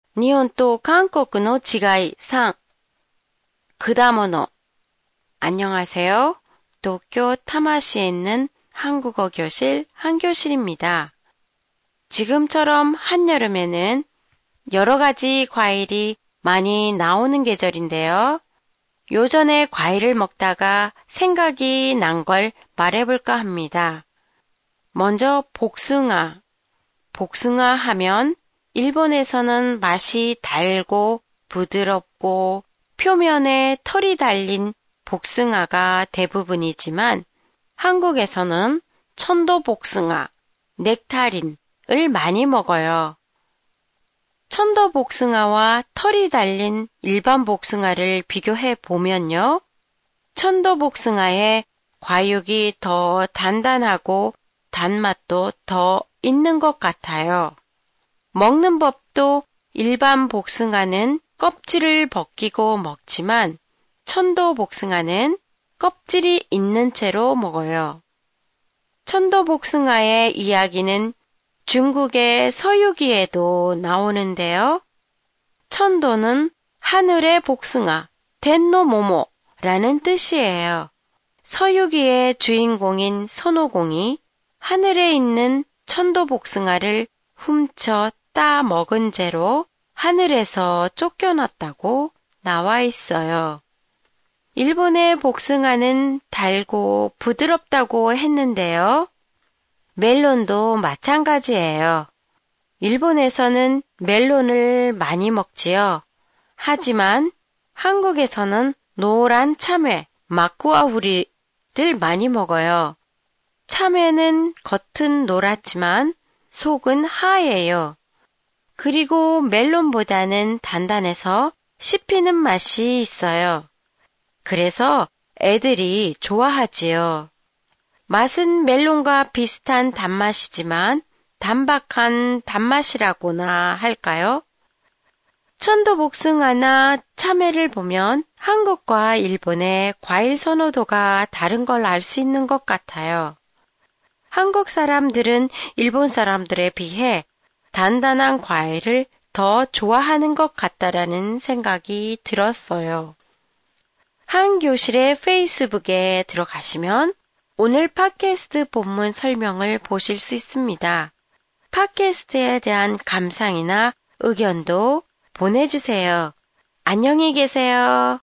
日本と韓国の違い3、果物。안녕하세요. 도쿄 타마시에 있는 한국어 교실 한교실입니다. 지금처럼 한여름에는 여러 가지 과일이 많이 나오는 계절인데요. 요전에 과일을 먹다가 생각이 난 걸 말해볼까 합니다. 먼저 복숭아. 복숭아 하면 일본에서는 맛이 달고 부드럽고 표면에 털이 달린 복숭아가 대부분이지만 한국에서는 천도복숭아, 넥타린을 많이 먹어요. 천도복숭아와 털이 달린 일반 복숭아를 비교해 보면요. 천도복숭아의 과육이 더 단단하고 단맛도 더 있는 것 같아요. 먹는 법도 일반 복숭아는 껍질을 벗기고 먹지만 천도복숭아는 껍질이 있는 채로 먹어요. 천도복숭아의 이야기는 중국의 서유기에도 나오는데요. 천도는 하늘의 복숭아, 텐노모모라는 뜻이에요. 서유기의 주인공인 손오공이 하늘에 있는 천도복숭아를 훔쳐 따 먹은 죄로 하늘에서 쫓겨났다고 나와 있어요. 일본의 복숭아는 달고 부드럽다고 했는데요. 멜론도 마찬가지예요. 일본에서는 멜론을 많이 먹지요. 하지만 한국에서는 노란 참외, 마쿠아우리를 많이 먹어요. 참외는 겉은 노랗지만 속은 하얘요. 그리고 멜론보다는 단단해서 씹히는 맛이 있어요. 그래서 애들이 좋아하지요. 맛은 멜론과 비슷한 단맛이지만 단박한 단맛이라고나 할까요? 천도복숭아나 참외를 보면 한국과 일본의 과일 선호도가 다른 걸 알 수 있는 것 같아요. 한국 사람들은 일본 사람들에 비해 단단한 과일을 더 좋아하는 것 같다라는 생각이 들었어요. 한교실의 페이스북에 들어가시면 오늘 팟캐스트 본문 설명을 보실 수 있습니다. 팟캐스트에 대한 감상이나 의견도 보내주세요. 안녕히 계세요.